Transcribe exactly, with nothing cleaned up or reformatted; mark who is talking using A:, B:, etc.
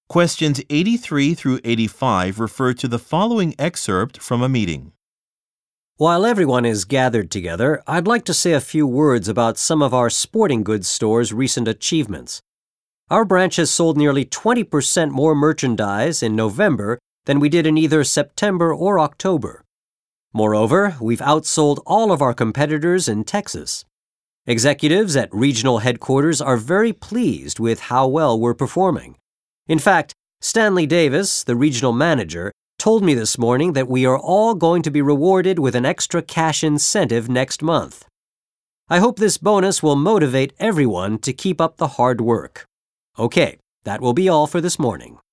A: Questions eighty-three through eighty-five refer to the following excerpt from a meeting.
B: While everyone is gathered together, I'd like to say a few words about some of our sporting goods stores' recent achievements. Our branch has sold nearly twenty percent more merchandise in November than we did in either September or October. Moreover, we've outsold all of our competitors in Texas. Executives at regional headquarters are very pleased with how well we're performing. In fact, Stanley Davis, the regional manager, told me this morning that we are all going to be rewarded with an extra cash incentive next month. I hope this bonus will motivate everyone to keep up the hard work. Okay, that will be all for this morning.